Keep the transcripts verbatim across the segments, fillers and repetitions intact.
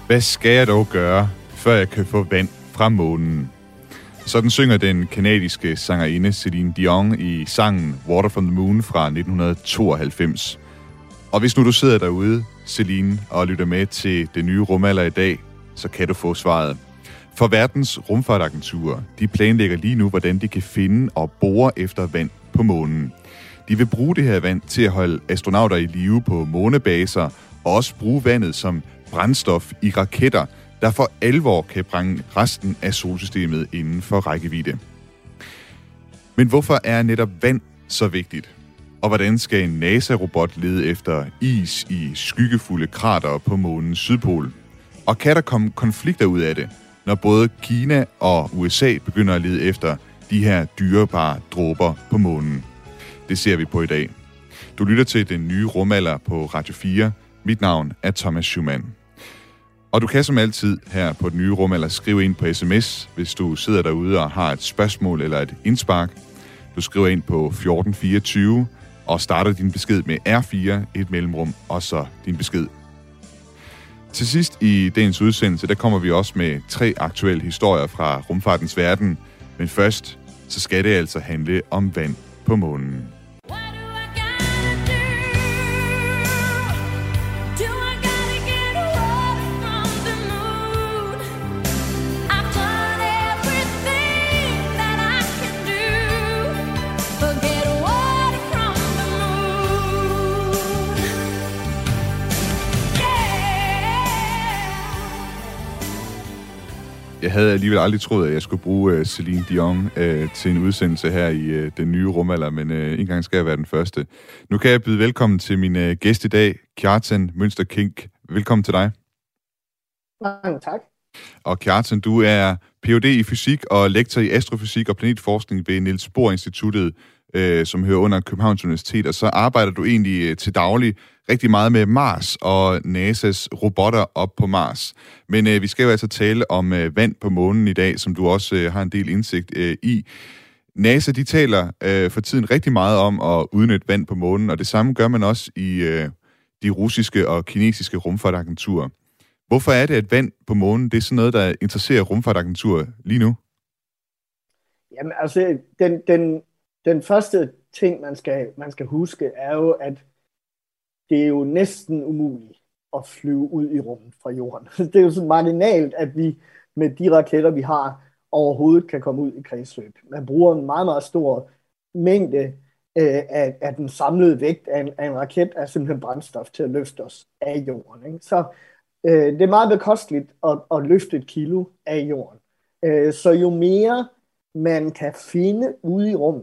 Hvad skal jeg dog gøre, før jeg kan få vand fra månen? Sådan synger den kanadiske sangerinde Celine Dion i sangen Water from the Moon fra nitten tooghalvfems. Og hvis nu du sidder derude, Celine, og lytter med til det nye rumalder i dag, så kan du få svaret. For verdens rumfartagenturer, de planlægger lige nu, hvordan de kan finde og bore efter vand på månen. De vil bruge det her vand til at holde astronauter i live på månebaser, og også bruge vandet som brændstof i raketter, der for alvor kan bringe resten af solsystemet inden for rækkevidde. Men hvorfor er netop vand så vigtigt? Og hvordan skal en NASA-robot lede efter is i skyggefulde kratere på månens sydpol? Og kan der komme konflikter ud af det, når både Kina og U S A begynder at lede efter de her dyrebare dråber på månen? Det ser vi på i dag. Du lytter til den nye rumalder på Radio fire. Mit navn er Thomas Schumann. Og du kan som altid her på den nye rumalder skrive ind på sms, hvis du sidder derude og har et spørgsmål eller et indspark. Du skriver ind på fjorten fireogtyve og starter din besked med R fire, et mellemrum, og så din besked. Til sidst i dagens udsendelse, der kommer vi også med tre aktuelle historier fra rumfartens verden. Men først, så skal det altså handle om vand på månen. Jeg havde alligevel aldrig troet, at jeg skulle bruge uh, Celine Dion uh, til en udsendelse her i uh, den nye rumalder, men uh, en gang skal jeg være den første. Nu kan jeg byde velkommen til min uh, gæst i dag, Kjartan Mønster Kink. Velkommen til dig. Mange tak. Og Kjartan, du er P H D i fysik og lektor i astrofysik og planetforskning ved Niels Bohr Instituttet, uh, som hører under Københavns Universitet, og så arbejder du egentlig uh, til daglig rigtig meget med Mars og NASA's robotter op på Mars. Men øh, vi skal jo altså tale om øh, vand på månen i dag, som du også øh, har en del indsigt øh, i. NASA, de taler øh, for tiden rigtig meget om at udnytte vand på månen, og det samme gør man også i øh, de russiske og kinesiske rumfartagenturer. Hvorfor er det, at vand på månen, det er sådan noget, der interesserer rumfartagenturer lige nu? Jamen altså, den, den, den første ting, man skal, man skal huske, er jo, at det er jo næsten umuligt at flyve ud i rummet fra jorden. Det er jo sådan marginalt, at vi med de raketter, vi har, overhovedet kan komme ud i kredsløb. Man bruger en meget, meget stor mængde øh, af, af den samlede vægt af en, af en raket, er simpelthen brændstof til at løfte os af jorden. Ikke? Så øh, det er meget bekosteligt at, at løfte et kilo af jorden. Øh, så jo mere man kan finde ude i rummet,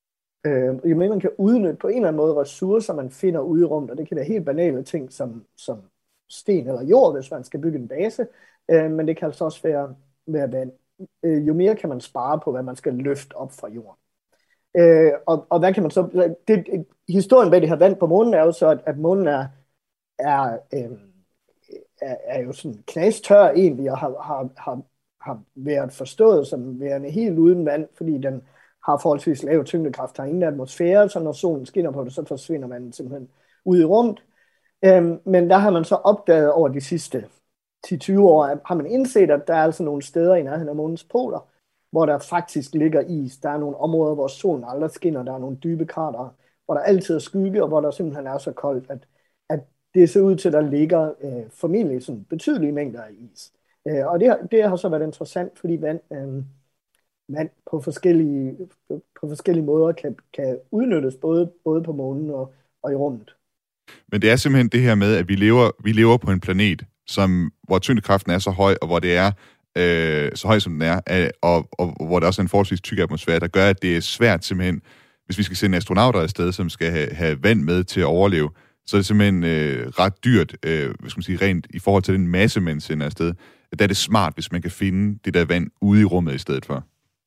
Øh, jo mere man kan udnytte på en eller anden måde ressourcer, man finder ude i rummet, og det kan være helt banale ting som, som sten eller jord, hvis man skal bygge en base, øh, men det kan altså også være, være vand. Øh, jo mere kan man spare på, hvad man skal løfte op fra jorden. Øh, og, og hvad kan man så... Det, historien bag det her vand på månen er jo så, at, at månen er, er, øh, er, er jo sådan knastør egentlig, og har, har, har, har været forstået som værende helt uden vand, fordi den har forholdsvis lav tyngdekraft, har ingen atmosfære, så når solen skinner på det, så forsvinder man simpelthen ud i rummet. Øhm, men der har man så opdaget over de sidste ti til tyve år, at har man indset, at der er altså nogle steder i nærheden af månens poler, hvor der faktisk ligger is. Der er nogle områder, hvor solen aldrig skinner, der er nogle dybe kratere, hvor der altid er skygge, og hvor der simpelthen er så koldt, at, at det ser ud til, at der ligger øh, formentlig sådan betydelige mængder af is. Øh, og det, det har så været interessant, fordi vand... Øh, vand på forskellige, på forskellige måder kan, kan udnyttes både, både på månen og, og i rummet. Men det er simpelthen det her med, at vi lever, vi lever på en planet, som, hvor tyngdekraften er så høj, og hvor det er øh, så høj, som den er, og, og, og hvor der også er en forholdsvis tyk atmosfære, der gør, at det er svært simpelthen, hvis vi skal sende astronauter afsted, som skal have, have vand med til at overleve, så er det simpelthen øh, ret dyrt, øh, hvad skal man sige, rent i forhold til den masse, man sender afsted. Der er det smart, hvis man kan finde det der vand ude i rummet i stedet for.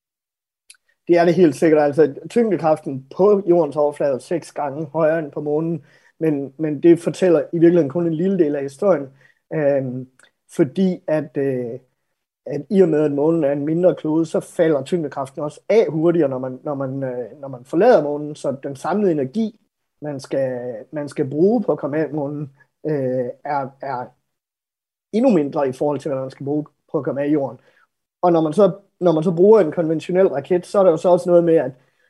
Det er det helt sikkert. Altså, tyngdekraften på jordens overflade er seks gange højere end på månen, men, men det fortæller i virkeligheden kun en lille del af historien, øhm, fordi at, øh, at i og med, at månen er en mindre klode, så falder tyngdekraften også af hurtigere, når man, når man, øh, når man forlader månen, så den samlede energi, man skal, man skal bruge på at komme af månen, øh, er, er endnu mindre i forhold til, hvad man skal bruge på at komme af jorden. Og når man så, når man så bruger en konventionel raket, så er der jo så også noget med, at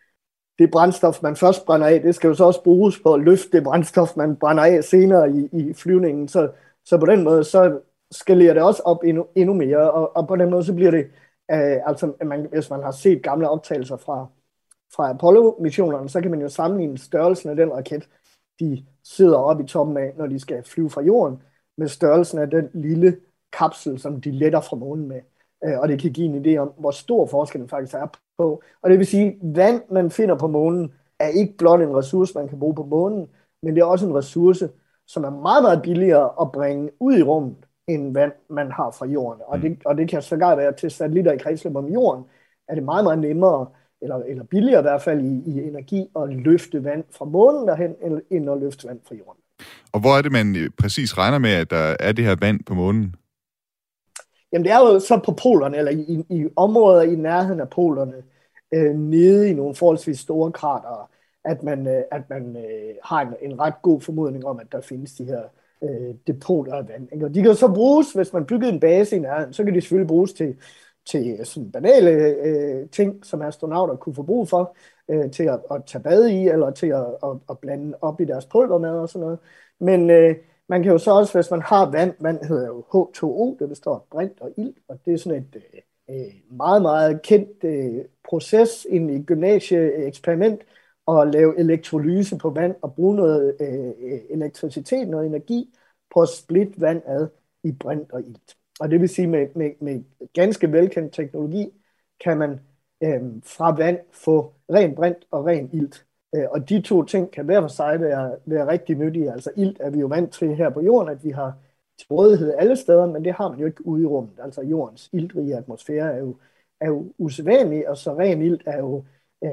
det brændstof, man først brænder af, det skal jo så også bruges på at løfte det brændstof, man brænder af senere i, i flyvningen. Så, så på den måde, så skalerer det også op endnu, endnu mere, og, og på den måde, så bliver det, øh, altså man, hvis man har set gamle optagelser fra, fra Apollo-missionerne, så kan man jo sammenligne størrelsen af den raket, de sidder oppe i toppen af, når de skal flyve fra jorden, med størrelsen af den lille kapsel, som de letter fra månen med. Og det kan give en idé om, hvor stor forskellen faktisk er på. Og det vil sige, at vand, man finder på månen, er ikke blot en ressource, man kan bruge på månen, men det er også en ressource, som er meget, meget billigere at bringe ud i rummet, end vand, man har fra jorden. Og det, og det kan sågar være til satellitter i kredsløb om jorden, er det meget, meget nemmere, eller, eller billigere i hvert fald i, i energi, at løfte vand fra månen derhen, end at løfte vand fra jorden. Og hvor er det, man præcis regner med, at der er det her vand på månen? Jamen det er jo så på polerne, eller i, i områder i nærheden af polerne, øh, nede i nogle forholdsvis store kratere, at man, øh, at man øh, har en, en ret god formodning om, at der findes de her øh, depoter af vand. Ikke? Og de kan så bruges, hvis man byggede en base i nærheden, så kan de selvfølgelig bruges til, til sådan banale øh, ting, som astronauter kunne få brug for, øh, til at, at tage bad i, eller til at, at, at blande op i deres pulvermad og sådan noget. Men øh, man kan jo så også, hvis man har vand, vand hedder jo H to O, det består af brint og ilt, og det er sådan et øh, meget, meget kendt øh, proces i et gymnasieeksperiment, at lave elektrolyse på vand og bruge noget øh, elektricitet, noget energi, på at splitte vand ad i brint og ilt. Og det vil sige, med, med, med ganske velkendt teknologi, kan man øh, fra vand få ren brint og ren ilt. Og de to ting kan hver for sig være, være rigtig nyttige. Altså ilt er vi jo vant til her på jorden, at vi har til rådighed alle steder, men det har man jo ikke ude i rummet. Altså jordens iltrige atmosfære er jo, er jo usædvanlig, og så ren ilt er jo, øh,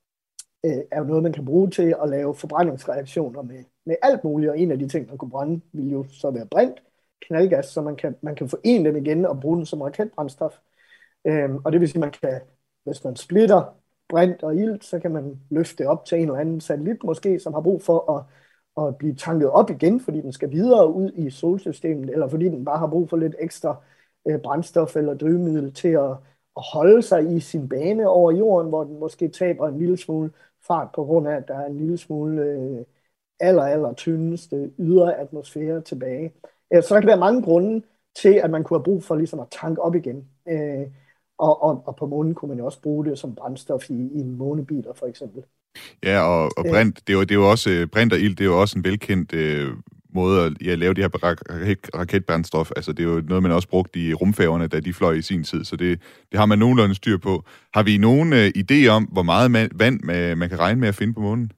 er jo noget, man kan bruge til at lave forbrændingsreaktioner med, med alt muligt. Og en af de ting, man kunne brænde, vil jo så være brint, knaldgas, så man kan, man kan forene dem igen og bruge den som raketbrændstof. Øh, og det vil sige, at man kan, hvis man splitter brint og ilt, så kan man løfte det op til en eller anden satellit måske, som har brug for at, at blive tanket op igen, fordi den skal videre ud i solsystemet, eller fordi den bare har brug for lidt ekstra øh, brændstof eller drivmiddel til at, at holde sig i sin bane over jorden, hvor den måske taber en lille smule fart på grund af, at der er en lille smule øh, aller, aller tyndeste ydre atmosfære tilbage. Øh, så der kan være mange grunde til, at man kunne have brug for ligesom at tanke op igen. Øh, Og, og, og på månen kunne man jo også bruge det som brændstof i, i månebiler, for eksempel. Ja, og, og brint, det er jo, det er jo også, brint og ilt, det er jo også en velkendt øh, måde at ja, lave de her raket, raketbrændstof. Altså, det er jo noget, man også brugte i rumfærgerne, da de fløj i sin tid, så det, det har man nogenlunde styr på. Har vi nogen øh, idé om, hvor meget man, vand man, man kan regne med at finde på månen?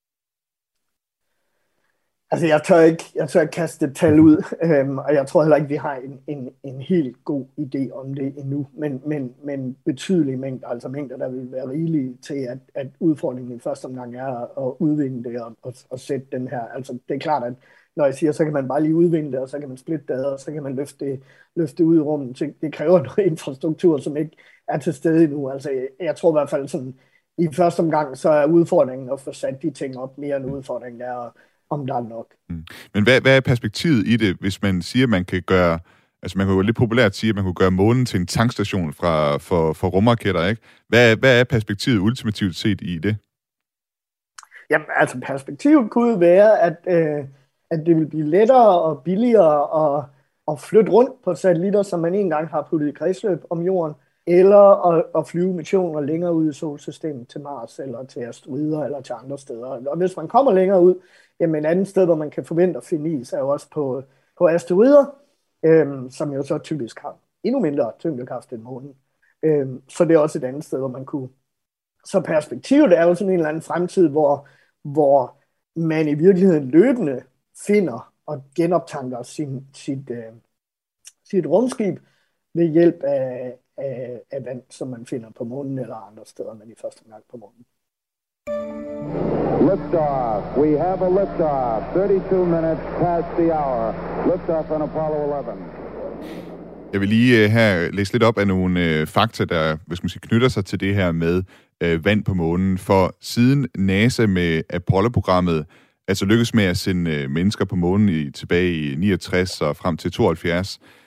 Altså, jeg tør ikke, jeg tør ikke kaste et tal ud, øhm, og jeg tror heller ikke, vi har en, en, en helt god idé om det endnu, men, men, men betydelige mængder, altså mængder, der vil være rigelige til, at, at udfordringen i første omgang er at udvinde det og, og, og sætte den her. Altså, det er klart, at når jeg siger, så kan man bare lige udvinde det, og så kan man splitte det, og så kan man løfte det, løfte det ud i rummet. Så det kræver noget infrastruktur, som ikke er til stede endnu. Altså, jeg, jeg tror i hvert fald sådan, i første omgang, så er udfordringen at få sat de ting op mere end udfordringen er, om der er nok. Mm. Men hvad, hvad er perspektivet i det, hvis man siger, at man kan gøre, altså man kan jo lidt populært sige, at man kunne gøre månen til en tankstation fra, for, for rumraketter, ikke? Hvad, hvad er perspektivet ultimativt set i det? Jamen, altså perspektivet kunne være, at, øh, at det vil blive lettere og billigere at, at flytte rundt på satellitter, som man engang har puttet i kredsløb om jorden, eller at, at flyve missioner længere ud i solsystemet til Mars, eller til asteroider, eller til andre steder. Og hvis man kommer længere ud, jamen et andet sted, hvor man kan forvente at finde is, er jo også på, på asteroider, øhm, som jo så typisk har endnu mindre tyngdekraft end månen. Øhm, så det er også et andet sted, hvor man kunne. Så perspektivet er jo sådan en eller anden fremtid, hvor, hvor man i virkeligheden løbende finder og genoptanker sin, sit, øh, sit rumskib ved hjælp af, af, af vand, som man finder på månen eller andre steder, men i første gang på månen. Liftoff. We have a liftoff. thirty-two minutes past the hour. Liftoff on Apollo eleven. Jeg vil lige uh, her læse lidt op af nogle uh, fakta, der hvad skal man sige, knytter sig til det her med uh, vand på månen. For siden NASA med Apollo-programmet altså lykkedes med at sende uh, mennesker på månen i, tilbage i niogtres og frem til tooghalvfjerds,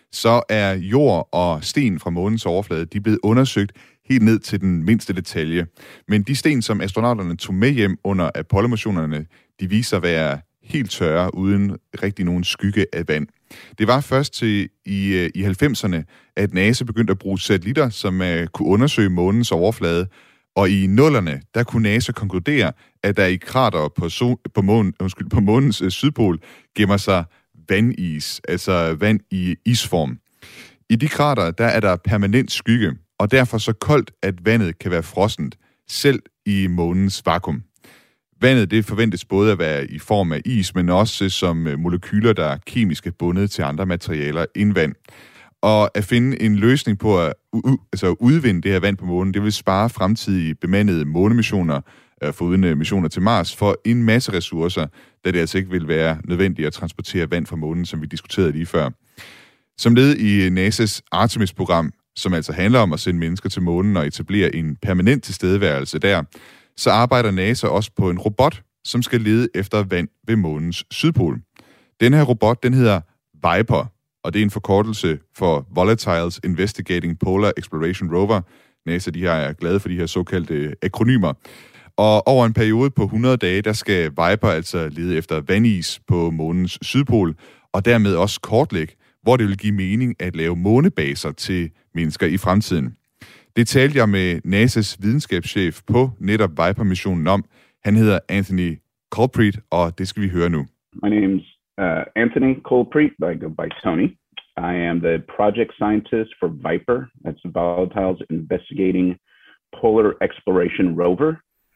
så er jord og sten fra månens overflade, de er blevet undersøgt helt ned til den mindste detalje. Men de sten, som astronauterne tog med hjem under Apollo-missionerne, de viser at være helt tørre, uden rigtig nogen skygge af vand. Det var først til i, i halvfemserne, at NASA begyndte at bruge satellitter, som uh, kunne undersøge månens overflade. Og i nullerne, der kunne NASA konkludere, at der i krater på, so, på, månen, undskyld, på månens uh, sydpol gemmer sig vandis, altså vand i isform. I de krater, der er der permanent skygge, og derfor så koldt, at vandet kan være frossent, selv i månens vakuum. Vandet det forventes både at være i form af is, men også som molekyler, der er kemisk bundet til andre materialer end vand. Og at finde en løsning på at u- altså udvinde det her vand på månen, det vil spare fremtidige bemandede månemissioner, øh, foruden missioner til Mars, for en masse ressourcer, da det altså ikke vil være nødvendigt at transportere vand fra månen, som vi diskuterede lige før. Som led i NASA's Artemis-program, som altså handler om at sende mennesker til månen og etablere en permanent tilstedeværelse der, så arbejder NASA også på en robot, som skal lede efter vand ved månens sydpol. Den her robot, den hedder Viper, og det er en forkortelse for Volatiles Investigating Polar Exploration Rover. NASA, de her er glade for de her såkaldte akronymer. Og over en periode på hundrede dage, der skal Viper altså lede efter vandis på månens sydpol, og dermed også kortlægge, hvor det vil give mening at lave månebaser til mennesker i fremtiden. Det talte jeg med NASA's videnskabschef på netop Viper-missionen om. Han hedder Anthony Colpreet, og det skal vi høre nu. My name's uh, Anthony Colpreet. I go by Tony. I am the project scientist for Viper. That's the Volatiles Investigating Polar Exploration Rover.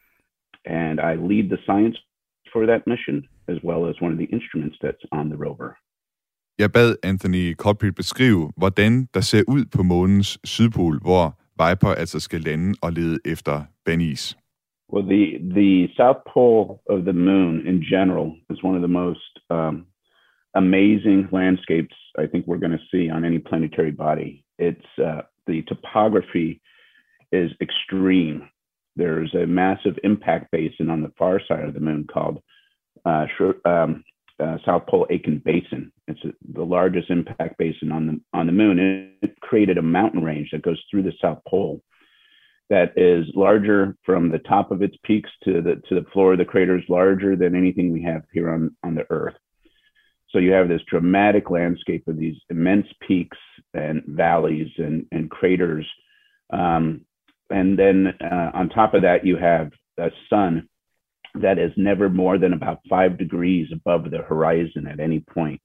And I lead the science for that mission, as well as one of the instruments that's on the rover. Jeg bad Anthony Colpreet beskrive, hvordan der ser ud på månens sydpol, hvor Viper altså skal lande og lede efter vandis. Well, the the south pole of the moon in general is one of the most um, amazing landscapes I think we're going to see on any planetary body. It's uh, the topography is extreme. There's a massive impact basin on the far side of the moon called uh, um, uh, South Pole Aitken Basin. It's a, the largest impact basin on the on the moon. It created a mountain range that goes through the South Pole that is larger from the top of its peaks to the to the floor of the crater, is larger than anything we have here on, on the Earth. So you have this dramatic landscape of these immense peaks and valleys and, and craters. Um, and then uh, on top of that, you have a sun that is never more than about five degrees above the horizon at any point.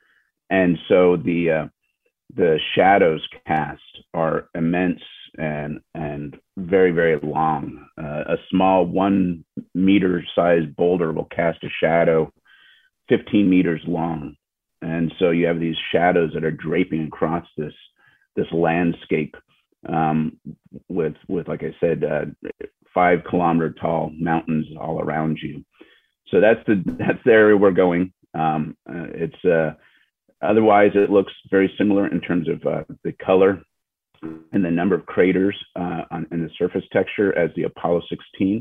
And so the uh, the shadows cast are immense and and very, very long. Uh, a small one meter sized boulder will cast a shadow fifteen meters long. And so you have these shadows that are draping across this this landscape um, with, with, like I said, uh, five kilometer tall mountains all around you. So that's the that's the area we're going. Um, uh, it's uh, otherwise it looks very similar in terms of uh, the color and the number of craters uh, on, and the surface texture as the Apollo sixteen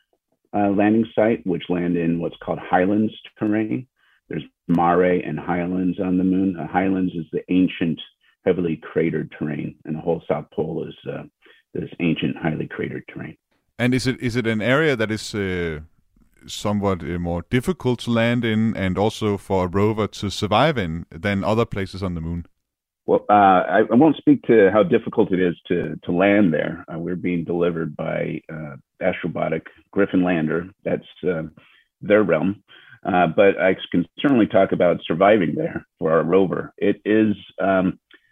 uh, landing site, which land in what's called highlands terrain. There's mare and highlands on the moon. Uh, highlands is the ancient, heavily cratered terrain, and the whole South Pole is uh, this ancient, highly cratered terrain. And is it is it an area that is uh, somewhat uh, more difficult to land in, and also for a rover to survive in than other places on the moon? Well, uh, I, I won't speak to how difficult it is to to land there. Uh, we're being delivered by uh, Astrobotic Griffin Lander. That's uh, their realm. Uh, but I can certainly talk about surviving there for our rover. It is um,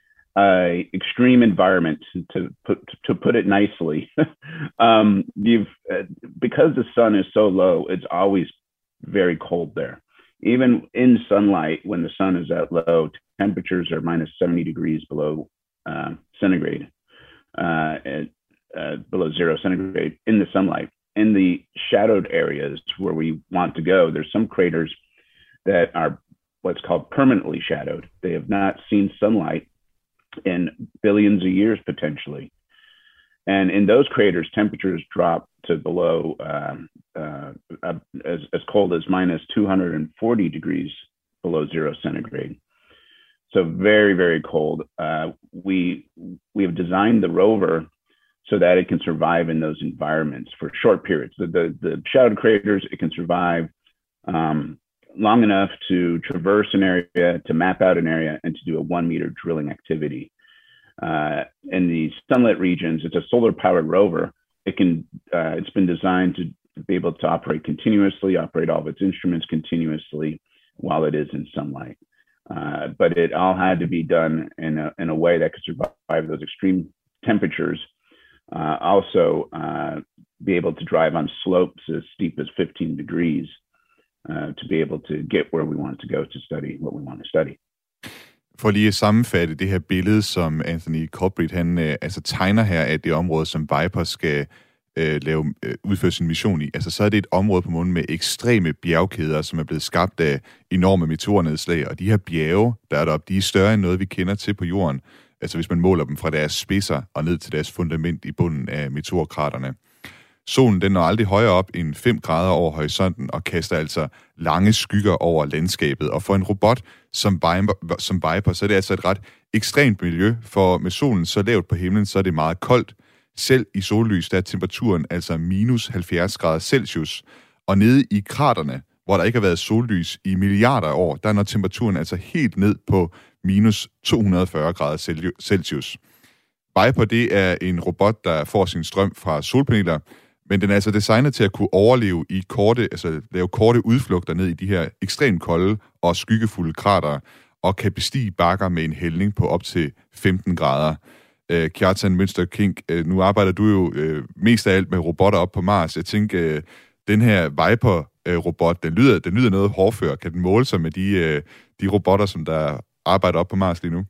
an extreme environment, to put to put it nicely. um, you've uh, because the sun is so low, it's always very cold there. Even in sunlight, when the sun is at low, temperatures are minus seventy degrees below uh, centigrade, uh, at, uh, below zero centigrade in the sunlight. In the shadowed areas where we want to go, there's some craters that are what's called permanently shadowed. They have not seen sunlight in billions of years potentially. And in those craters, temperatures drop to below um, uh, uh, as, as cold as minus two hundred forty degrees below zero centigrade. So very, very cold. Uh, we we have designed the rover so that it can survive in those environments for short periods. The the, the shadowed craters, it can survive um, long enough to traverse an area, to map out an area, and to do a one meter drilling activity. Uh, in the sunlit regions, it's a solar powered rover. It can uh, it's been designed to be able to operate continuously, operate all of its instruments continuously while it is in sunlight. Uh, but it all had to be done in a, in a way that could survive those extreme temperatures. Uh, also, uh, be able to drive on slopes as steep as fifteen degrees uh, to be able to get where we want to go to study what we want to study. For lige at sammenfatte det her billede, som Anthony Colbrith han øh, altså tegner her af det område, som Viper skal øh, lave, øh, udføre sin mission i. Altså så er det et område på månen med ekstreme bjergkæder, som er blevet skabt af enorme meteornedslag. Og de her bjerge, der er deroppe, de er større end noget, vi kender til på jorden. Altså hvis man måler dem fra deres spidser og ned til deres fundament i bunden af meteorkraterne. Solen den når aldrig højere op end fem grader over horisonten og kaster altså lange skygger over landskabet. Og for en robot som Viper, som Viper, så er det altså et ret ekstremt miljø, for med solen så lavt på himlen, så er det meget koldt. Selv i sollys, der er temperaturen altså minus halvfjerds grader Celsius. Og nede i kraterne, hvor der ikke har været sollys i milliarder af år, der når temperaturen altså helt ned på minus to hundrede og fyrre grader Celsius. Viper, det er en robot, der får sin strøm fra solpaneler, men den er altså designet til at kunne overleve i korte, altså lave korte udflugter ned i de her ekstremt kolde og skyggefulde kratere, og kan bestige bakker med en hældning på op til femten grader. Uh, Kjartan Mønster Kink, uh, nu arbejder du jo uh, mest af alt med robotter op på Mars. Jeg tænker, uh, den her Viper-robot, uh, den, lyder, den lyder noget hårdfør. Kan den måle sig med de, uh, de robotter, som der arbejder op på Mars lige nu?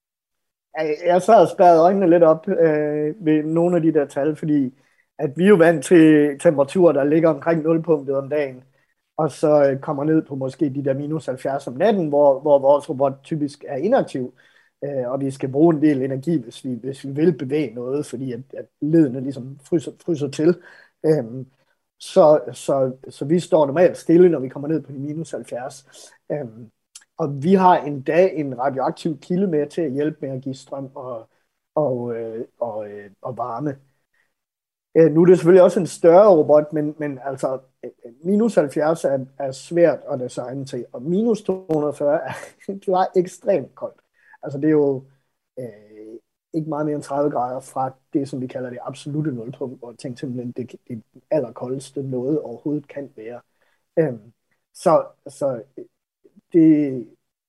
Jeg sad og spærrede øjnene lidt op øh, ved nogle af de der tal, fordi at vi er jo vant til temperaturer, der ligger omkring nulpunktet om dagen, og så øh, kommer ned på måske de der minus halvfjerds om natten, hvor, hvor vores robot typisk er inaktiv, øh, og vi skal bruge en del energi, hvis vi, hvis vi vil bevæge noget, fordi at, at ledene ligesom fryser, fryser til. Øh, så, så, så vi står normalt stille, når vi kommer ned på de minus halvfjerds. Øh, Og vi har endda en radioaktiv kilde med til at hjælpe med at give strøm og, og, øh, og, øh, og varme. Øh, nu er det selvfølgelig også en større robot, men, men altså minus halvfjerds er, er svært at designe til, og minus to hundrede og fyrre er, det var ekstremt koldt. Altså det er jo øh, ikke meget mere end tredive grader fra det, som vi kalder det absolutte nulpunkt, hvor ting simpelthen det, det allerkoldeste noget overhovedet kan være. Øh, så så Det,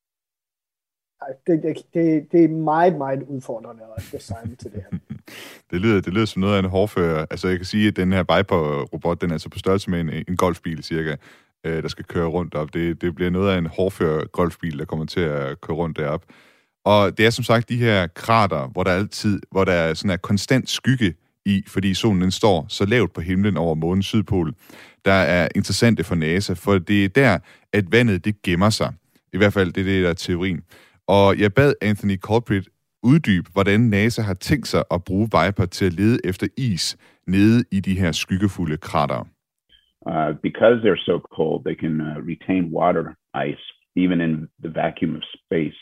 det, det, det er meget, meget udfordrende at designe til det her. det, lyder, det lyder som noget af en hårdfører. Altså jeg kan sige, at den her Viper-robot, den er altså på størrelse med en, en golfbil cirka, øh, der skal køre rundt op. Det, det bliver noget af en hårdfører golfbil, der kommer til at køre rundt derop. Og det er som sagt de her krater, hvor der altid, hvor der er sådan en konstant skygge i, fordi solen den står så lavt på himlen over månens sydpol, der er interessante for NASA, for det er der, at vandet det gemmer sig. I hvert fald det er det, der er teorien. Og jeg bad Anthony Colbrith uddybe, hvordan NASA har tænkt sig at bruge Viper til at lede efter is nede i de her skyggefulde krater. Uh, because they're so cold, they can uh, retain water ice, even in the vacuum of space.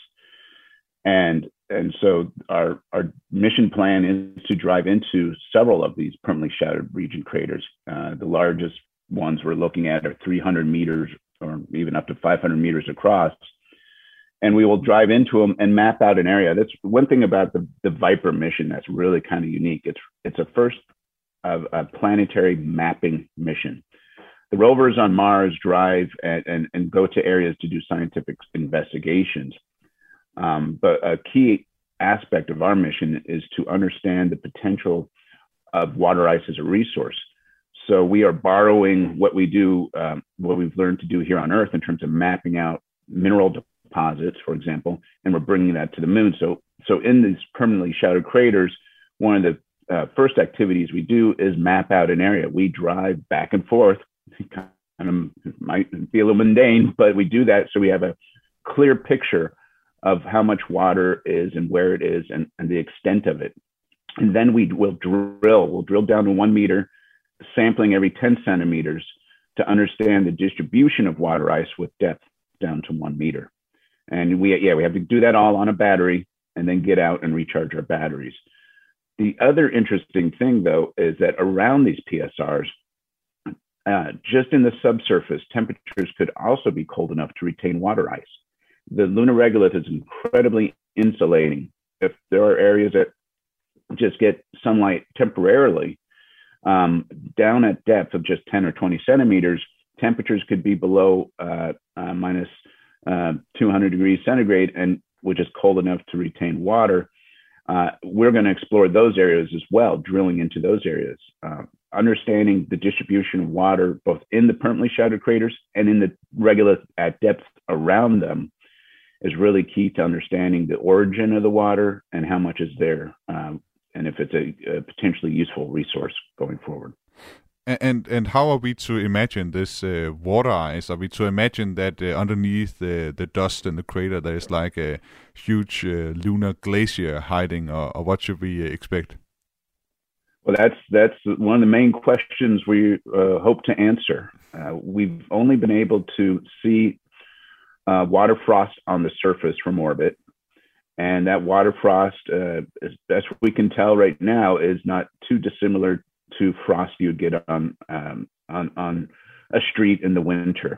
And and so our our mission plan is to drive into several of these permanently shadowed region craters. Uh, the largest ones we're looking at are three hundred meters or even up to five hundred meters across. And we will drive into them and map out an area. That's one thing about the, the Viper mission that's really kind of unique. It's it's a first of a planetary mapping mission. The rovers on Mars drive and, and, and go to areas to do scientific investigations. Um, but a key aspect of our mission is to understand the potential of water ice as a resource. So we are borrowing what we do, um, what we've learned to do here on Earth in terms of mapping out mineral deposits, for example, and we're bringing that to the moon. So, so in these permanently shadowed craters, one of the uh, first activities we do is map out an area. We drive back and forth. Kind of might be a little mundane, but we do that so we have a clear picture of how much water is and where it is and, and the extent of it. And then we will drill. We'll drill down to one meter, sampling every ten centimeters to understand the distribution of water ice with depth down to one meter. And we, yeah, we have to do that all on a battery and then get out and recharge our batteries. The other interesting thing, though, is that around these P S Rs, uh, just in the subsurface, temperatures could also be cold enough to retain water ice. The lunar regolith is incredibly insulating. If there are areas that just get sunlight temporarily, um, down at depth of just ten or twenty centimeters, temperatures could be below uh, uh, minus uh, two hundred degrees centigrade, and which is cold enough to retain water. Uh, we're going to explore those areas as well, drilling into those areas, uh, understanding the distribution of water both in the permanently shattered craters and in the regolith at depth around them is really key to understanding the origin of the water and how much is there, um, and if it's a, a potentially useful resource going forward. And and how are we to imagine this uh, water ice? Are we to imagine that uh, underneath the, the dust in the crater there is like a huge uh, lunar glacier hiding, or, or what should we uh, expect? Well, that's that's one of the main questions we uh, hope to answer. Uh, we've only been able to see uh, water frost on the surface from orbit, and that water frost, uh, as best we can tell right now, is not too dissimilar to frost you'd get on um, on on a street in the winter.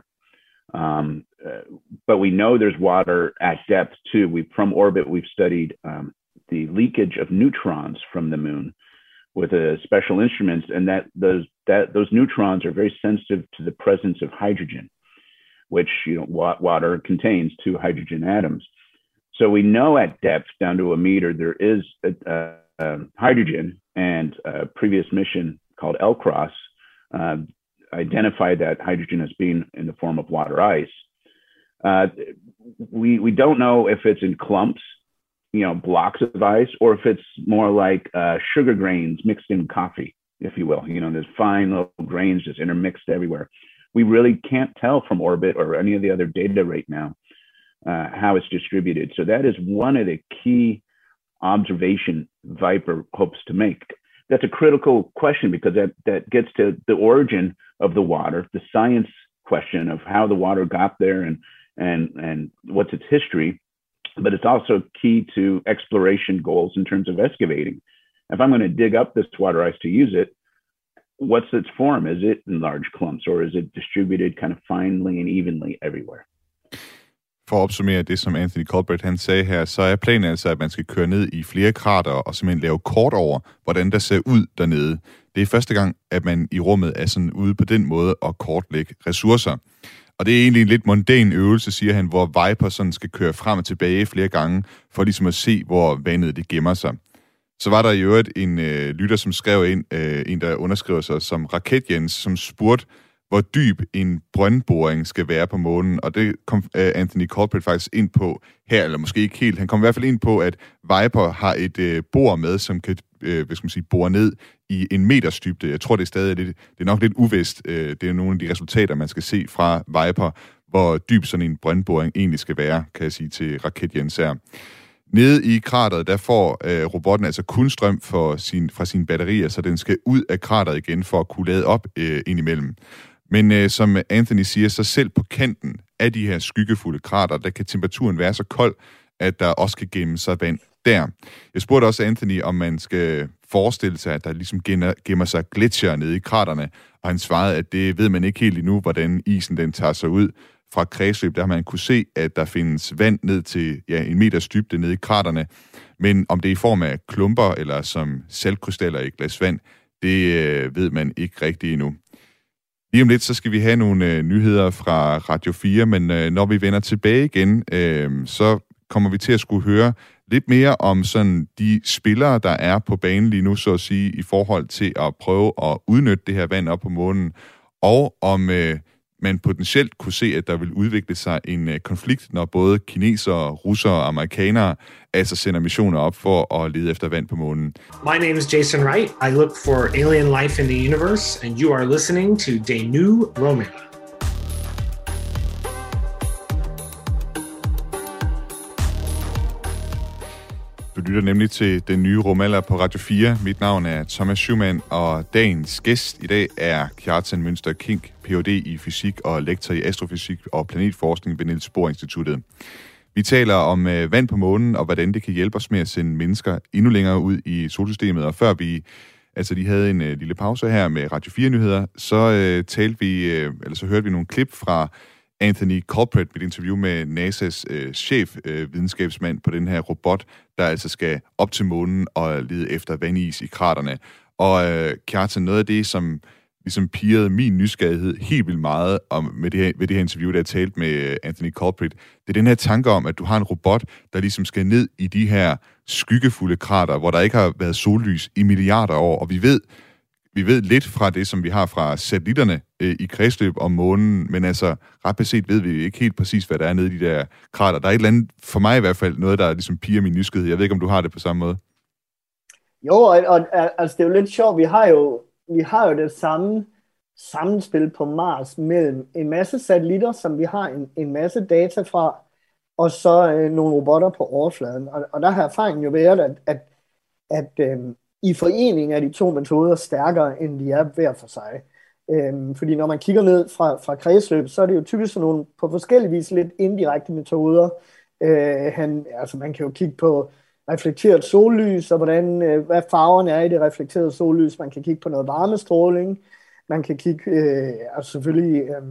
Um, uh, but we know there's water at depth too. We from orbit we've studied um, the leakage of neutrons from the moon with uh, special instruments, and that those that those neutrons are very sensitive to the presence of hydrogen, which you know wa- water contains two hydrogen atoms. So we know at depth down to a meter there is a, a, a hydrogen. And a previous mission called L-CROSS uh, identified that hydrogen as being in the form of water ice. Uh, we we don't know if it's in clumps, you know, blocks of ice, or if it's more like uh, sugar grains mixed in coffee, if you will. You know, there's fine little grains just intermixed everywhere. We really can't tell from orbit or any of the other data right now uh, how it's distributed. So that is one of the key observation Viper hopes to make. That's a critical question because that, that gets to the origin of the water, the science question of how the water got there and and and what's its history. But it's also key to exploration goals in terms of excavating. If I'm going to dig up this water ice to use it, what's its form? Is it in large clumps, or is it distributed kind of finely and evenly everywhere? For at opsummere det, som Anthony Colbreth han sagde her, så er planen altså, at man skal køre ned i flere krater og simpelthen lave kort over, hvordan der ser ud dernede. Det er første gang, at man i rummet er sådan ude på den måde at kortlægge ressourcer. Og det er egentlig en lidt mundane øvelse, siger han, hvor Viper sådan skal køre frem og tilbage flere gange, for ligesom at se, hvor vandet det gemmer sig. Så var der i øvrigt en øh, lytter, som skrev ind, øh, en der underskriver sig som Raket Jens, som spurgte, hvor dyb en brøndboring skal være på månen, og det kom uh, Anthony Colbreth faktisk ind på her, eller måske ikke helt. Han kom i hvert fald ind på, at Viper har et uh, bor med, som kan uh, hvad skal man sige, bore ned i en meters dybde. Jeg tror, det er stadig lidt, det er nok lidt uvist. Uh, det er nogle af de resultater, man skal se fra Viper, hvor dyb sådan en brøndboring egentlig skal være, kan jeg sige til Raket Jens her. Nede i krateret, der får øh, robotten altså kun strøm for sin, fra sine batterier, så den skal ud af krateret igen for at kunne lade op øh, indimellem. Men øh, som Anthony siger, så selv på kanten af de her skyggefulde krater, der kan temperaturen være så kold, at der også kan gemme sig vand der. Jeg spurgte også Anthony, om man skal forestille sig, at der ligesom gemmer sig gletsjer nede i kraterne, og han svarede, at det ved man ikke helt endnu, hvordan isen den tager sig ud. Fra kredsløb, der har man kunne se, at der findes vand ned til ja, en meters dybde nede i kraterne, men om det er i form af klumper eller som saltkrystaller i et glas vand, det øh, ved man ikke rigtigt endnu. Lige om lidt, så skal vi have nogle øh, nyheder fra Radio fire, men øh, når vi vender tilbage igen, øh, så kommer vi til at skulle høre lidt mere om sådan de spillere, der er på banen lige nu, så at sige, i forhold til at prøve at udnytte det her vand op på månen, og om øh, man potentielt kunne se, at der vil udvikle sig en øh, konflikt, når både kinesere, russere og amerikanere altså sender missioner op for at lede efter vand på månen. My name is Jason Wright. I look for alien life in the universe, and you are listening to Danu Romela. Du lytter nemlig til Den Nye Romela på Radio fire. Mit navn er Thomas Schumann, og dagens gæst i dag er Kjartan Mønster Kink, Ph D i fysik og lektor i astrofysik og planetforskning ved Niels Bohr Instituttet. Vi taler om øh, vand på månen, og hvordan det kan hjælpe os med at sende mennesker endnu længere ud i solsystemet. Og før vi altså de havde en øh, lille pause her med Radio fire-nyheder, så øh, talte vi, øh, eller så hørte vi nogle klip fra Anthony Colpert med et interview med NASA's øh, chef, øh, videnskabsmand på den her robot, der altså skal op til månen og lede efter vandis i kraterne. Og øh, Kjartan, noget af det, som ligesom pirrede min nysgerrighed helt vildt meget om, med det her, ved det her interview, der jeg talte med Anthony Colpert, det er den her tanke om, at du har en robot, der ligesom skal ned i de her skyggefulde krater, hvor der ikke har været sollys i milliarder år, og vi ved, vi ved lidt fra det, som vi har fra satellitterne øh, i kredsløb om månen, men altså ret beset ved vi ikke helt præcis, hvad der er nede i de der krater. Der er et eller andet, for mig i hvert fald, noget, der ligesom pirrer min nysgerrighed. Jeg ved ikke, om du har det på samme måde. Jo, og, og altså, det er jo lidt sjovt. Vi har jo, vi har jo det samme sammenspil på Mars mellem en masse satellitter, som vi har en, en masse data fra, og så øh, nogle robotter på overfladen. Og, og der har erfaringen jo været, at, at, at øh, i forening er de to metoder stærkere, end de er hver for sig. Øh, fordi når man kigger ned fra, fra kredsløb, så er det jo typisk sådan nogle på forskellige vis lidt indirekte metoder. Øh, han, altså man kan jo kigge på reflekteret sollys, og hvordan, øh, hvad farverne er i det reflekterede sollys. Man kan kigge på noget varmestråling. Man kan kigge, øh, altså selvfølgelig øh,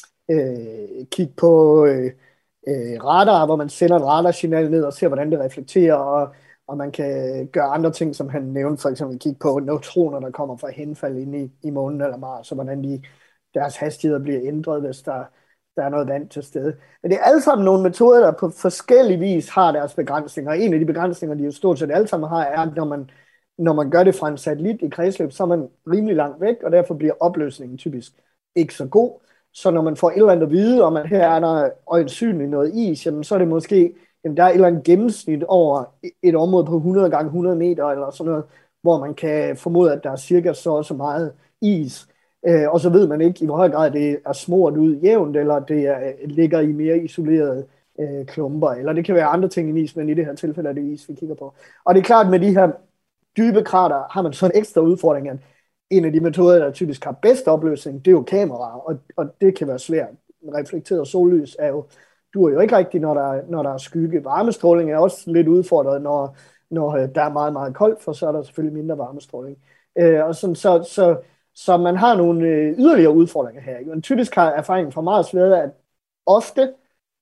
øh, kigge på øh, øh, radar, hvor man sender et radarsignal ned og ser, hvordan det reflekterer, og, og man kan gøre andre ting, som han nævnte, for eksempel kigge på neutroner, der kommer fra henfald ind i, i månen eller Mars, og hvordan de, deres hastigheder bliver ændret, hvis der, der er noget vand til stede. Men det er alle sammen nogle metoder, der på forskellige vis har deres begrænsninger, og en af de begrænsninger, de jo stort set alle sammen har, er, at når man Når man gør det fra en satellit i kredsløb, så er man rimelig langt væk, og derfor bliver opløsningen typisk ikke så god. Så når man får et eller andet at vide, om at her er der øjensynligt noget is, jamen så er det måske, jamen der er et eller andet gennemsnit over et område på hundrede gange hundrede meter, eller sådan noget, hvor man kan formode, at der er cirka så og så meget is. Øh, og så ved man ikke i hvor høj grad det er smurt ud jævnt, eller det er, ligger i mere isolerede øh, klumper, eller det kan være andre ting i is, men i det her tilfælde er det is, vi kigger på. Og det er klart, med de her dybe krater har man så en ekstra udfordring, at en af de metoder, der typisk har bedst opløsning, det er jo kameraer, og, og det kan være svært. Reflekteret sollys er jo, duer jo ikke rigtigt, når der, når der er skygge. Varmestråling er også lidt udfordret, når, når der er meget, meget koldt, for så er der selvfølgelig mindre varmestråling. Øh, og sådan, så, så, så man har nogle øh, yderligere udfordringer her. Men typisk har erfaringen fra Mars været, at ofte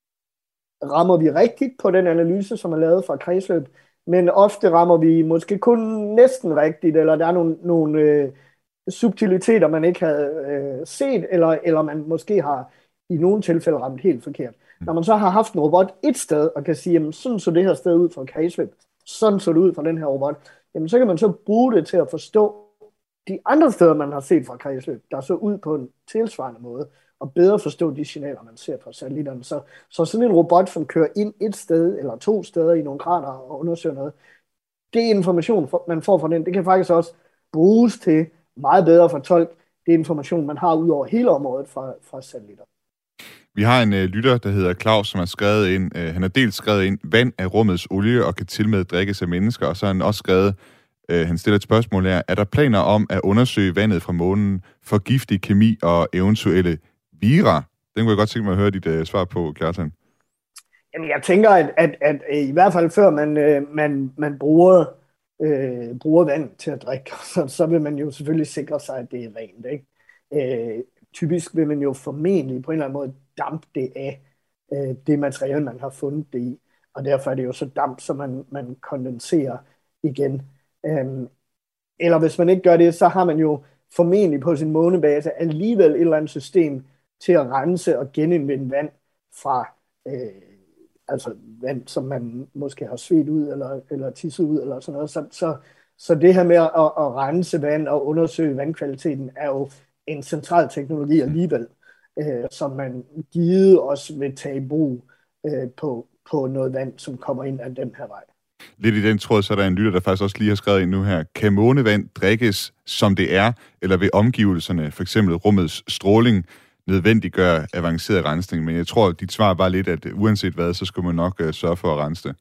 rammer vi rigtigt på den analyse, som er lavet fra kredsløb, men ofte rammer vi måske kun næsten rigtigt, eller der er nogle, nogle øh, subtiliteter, man ikke havde øh, set, eller, eller man måske har i nogle tilfælde ramt helt forkert. Når man så har haft en robot et sted, og kan sige, jamen sådan så det her sted ud fra kredsløb, sådan så det ud fra den her robot, jamen så kan man så bruge det til at forstå de andre steder, man har set fra kredsløb, der så ud på en tilsvarende måde, og bedre forstå de signaler, man ser fra satellitterne. Så, så sådan en robot, som kører ind et sted eller to steder i nogle krater og undersøger noget, det information, man får fra den, det kan faktisk også bruges til meget bedre fortolke det information, man har ud over hele området fra, fra satellitter. Vi har en uh, lytter, der hedder Claus, som har skrevet ind, uh, han har dels skrevet ind, vand er rummets olie og kan tilmed drikkes af mennesker, og så har han også skrevet, uh, han stiller et spørgsmål her, er der planer om at undersøge vandet fra månen for giftig kemi og eventuelle vira? Den kunne jeg godt tænke mig at høre dit uh, svar på, Kjartan. Jamen, jeg tænker, at, at, at, at i hvert fald før man, øh, man, man bruger, øh, bruger vand til at drikke, så, så vil man jo selvfølgelig sikre sig, at det er rent, ikke? Øh, typisk vil man jo formentlig på en eller anden måde dampe det af øh, det materiale, man har fundet det i, og derfor er det jo så damp, så man, man kondenserer igen. Øh, eller hvis man ikke gør det, så har man jo formentlig på sin månebase alligevel et eller andet system til at rense og genindvinde vand fra øh, altså vand, som man måske har svedt ud eller, eller tisset ud eller sådan noget. Så, så, så det her med at, at rense vand og undersøge vandkvaliteten er jo en central teknologi alligevel, øh, som man givet også vil tage i brug øh, på, på noget vand, som kommer ind af den her vej. Lidt i den tråd, så er der en lytter, der faktisk også lige har skrevet ind nu her. Kan månevand drikkes, som det er, eller ved omgivelserne, for eksempel rummets stråling, nødvendiggør avanceret rensning? Men jeg tror, dit svar var lidt, at uanset hvad, så skulle man nok uh, sørge for at rense det.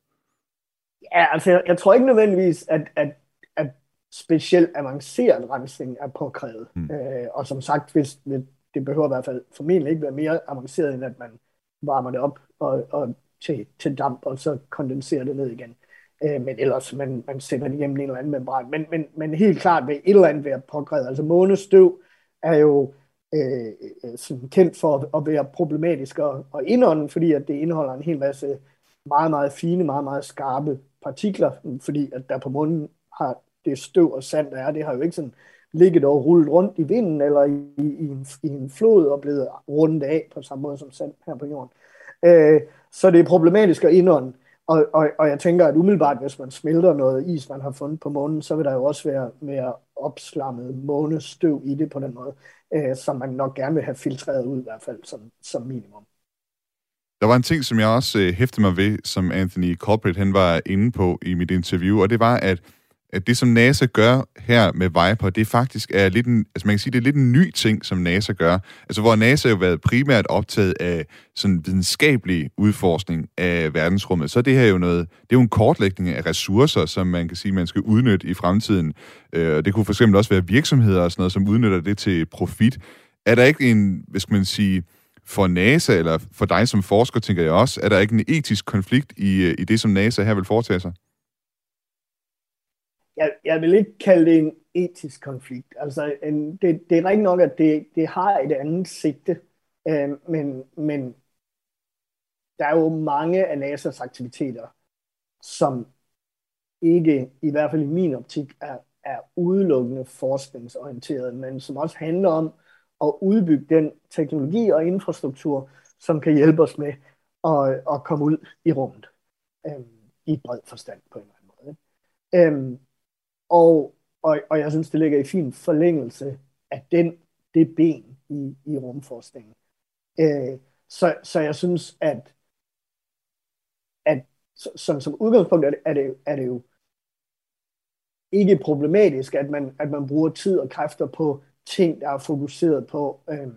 Ja, altså jeg, jeg tror ikke nødvendigvis, at, at, at specielt avanceret rensning er påkrævet. Hmm. Øh, og som sagt, hvis, det behøver i hvert fald formentlig ikke være mere avanceret, end at man varmer det op og, og til, til damp, og så kondenserer det ned igen. Øh, men ellers, man, man sætter det igennem en eller anden membran. Men, men, men helt klart vil et eller andet være pågrevet. Altså månestøv er jo øh, sådan kendt for at være problematisk at, at indånde, fordi at det indeholder en hel masse meget, meget fine, meget, meget skarpe partikler, fordi at der på månen har det støv og sand, der er, det har jo ikke sådan ligget og rullet rundt i vinden, eller i, i, en, i en flod og blevet rundet af på samme måde som sand her på jorden. Øh, så det er problematisk at indånde. Og, og, og jeg tænker, at umiddelbart, hvis man smelter noget is, man har fundet på månen, så vil der jo også være mere opslammet månestøv i det på den måde, øh, som man nok gerne vil have filtreret ud, i hvert fald som, som minimum. Der var en ting, som jeg også øh, hæftede mig ved, som Anthony Colbreth han var inde på i mit interview, og det var, at at det, som NASA gør her med Viper, det faktisk er lidt en, altså man kan sige, det er lidt en ny ting, som NASA gør. Altså hvor NASA jo har været primært optaget af sådan videnskabelig udforskning af verdensrummet, så er det her jo noget, det er jo en kortlægning af ressourcer, som man kan sige, man skal udnytte i fremtiden. Øh, det kunne for eksempel også være virksomheder og sådan noget, som udnytter det til profit. Er der ikke en, hvad skal man sige, for NASA, eller for dig som forsker, tænker jeg også, er der ikke en etisk konflikt i, i det, som NASA her vil foretage sig? Jeg, jeg vil ikke kalde det en etisk konflikt. Altså, en, det, det er rigtig nok, at det, det har et andet sigte, øh, men, men der er jo mange af NASA's aktiviteter, som ikke, i hvert fald i min optik, er, er udelukkende forskningsorienteret, men som også handler om at udbygge den teknologi og infrastruktur, som kan hjælpe os med at, at komme ud i rummet, øh, i et bred forstand på en eller anden måde. Øh, Og, og, og jeg synes, det ligger i fin forlængelse af den, det ben i, i rumforskningen. Øh, så, så jeg synes, at, at som, som udgangspunkt er det, er, det, er det jo ikke problematisk, at man, at man bruger tid og kræfter på ting, der er fokuseret på øh,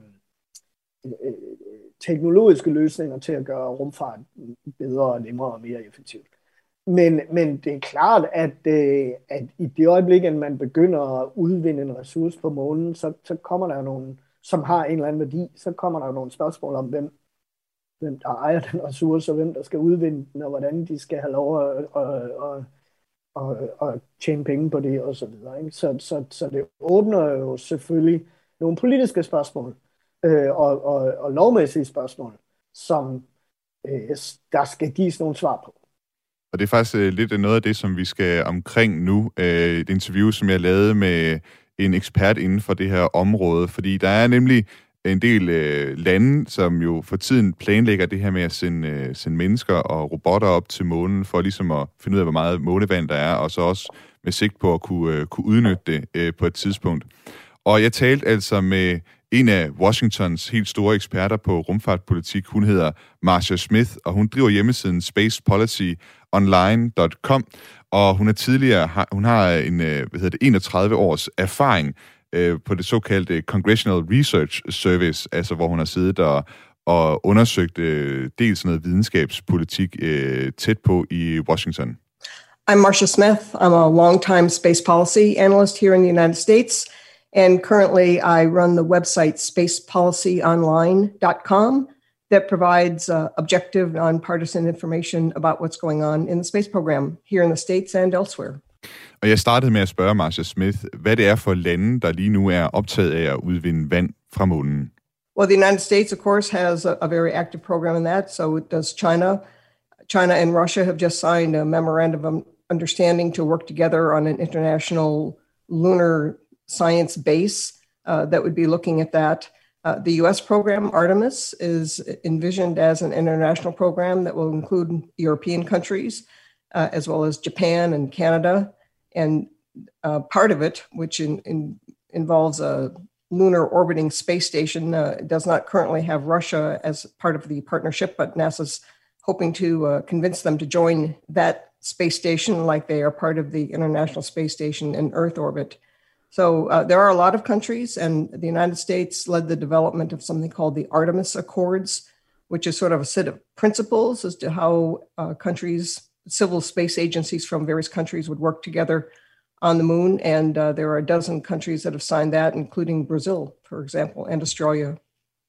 øh, teknologiske løsninger til at gøre rumfart bedre og nemmere og mere effektivt. Men, men det er klart, at, øh, at i det øjeblik, at man begynder at udvinde en ressource på månen, så, så kommer der nogle, som har en eller anden værdi, så kommer der nogle spørgsmål om, hvem, hvem der ejer den ressource, og hvem der skal udvinde den, og hvordan de skal have lov at, at, at, at, at tjene penge på det, og så videre. Ikke? Så, så, så det åbner jo selvfølgelig nogle politiske spørgsmål, øh, og, og, og lovmæssige spørgsmål, som øh, der skal gives nogle svar på. Og det er faktisk øh, lidt noget af det, som vi skal omkring nu. Øh, et interview, som jeg lavede med en ekspert inden for det her område. Fordi der er nemlig en del øh, lande, som jo for tiden planlægger det her med at sende, øh, sende mennesker og robotter op til månen, for ligesom at finde ud af, hvor meget månevand der er, og så også med sigt på at kunne, øh, kunne udnytte det øh, på et tidspunkt. Og jeg talte altså med en af Washingtons helt store eksperter på rumfartpolitik. Hun hedder Marcia Smith, og hun driver hjemmesiden space policy online punktum com, og hun er tidligere, hun har en, hvad hedder det, enogtredive års erfaring øh, på det såkaldte Congressional Research Service, altså hvor hun har siddet og, og undersøgt øh, dels noget videnskabspolitik øh, tæt på i Washington. I'm Marcia Smith. I'm a long-time space policy analyst here in the United States, and currently I run the website space policy online punktum com that provides uh, objective, nonpartisan information about what's going on in the space program here in the States and elsewhere. Og jeg startede med at spørge Marcia Smith, hvad det er for lande, der lige nu er optaget af at udvinde vand fra månen. Well, the United States, of course, has a, a very active program in that. So does China. China and Russia have just signed a memorandum of understanding to work together on an international lunar science base uh, that would be looking at that. Uh, the U S program, Artemis, is envisioned as an international program that will include European countries, uh, as well as Japan and Canada. And uh, part of it, which in, in, involves a lunar orbiting space station, uh, does not currently have Russia as part of the partnership, but NASA's hoping to uh, convince them to join that space station like they are part of the International Space Station in Earth orbit. So uh, there are a lot of countries, and the United States led the development of something called the Artemis Accords, which is sort of a set of principles as to how uh, countries, civil space agencies from various countries would work together on the moon. And uh, there are a dozen countries that have signed that, including Brazil, for example, and Australia.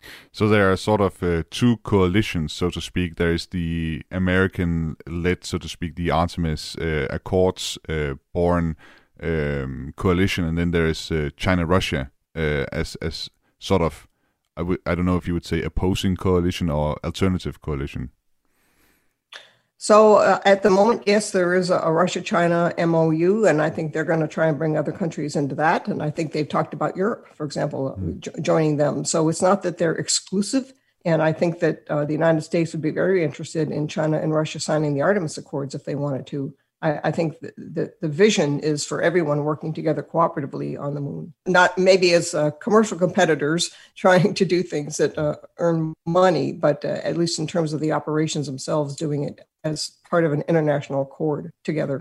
So there are sort of uh, two coalitions, so to speak. There is the American-led, so to speak, the Artemis uh, Accords-born uh, um, coalition, and then there is uh, China-Russia uh, as as sort of, I, w- I don't know if you would say opposing coalition or alternative coalition. So uh, at the moment, yes, there is a, a Russia-China M O U, and I think they're going to try and bring other countries into that. And I think they've talked about Europe, for example, mm. jo- joining them. So it's not that they're exclusive. And I think that uh, the United States would be very interested in China and Russia signing the Artemis Accords if they wanted to. I, I think the, the, the vision is for everyone working together cooperatively on the moon, not maybe as uh, commercial competitors trying to do things that uh, earn money, but uh, at least in terms of the operations themselves, doing it as part of an international accord together.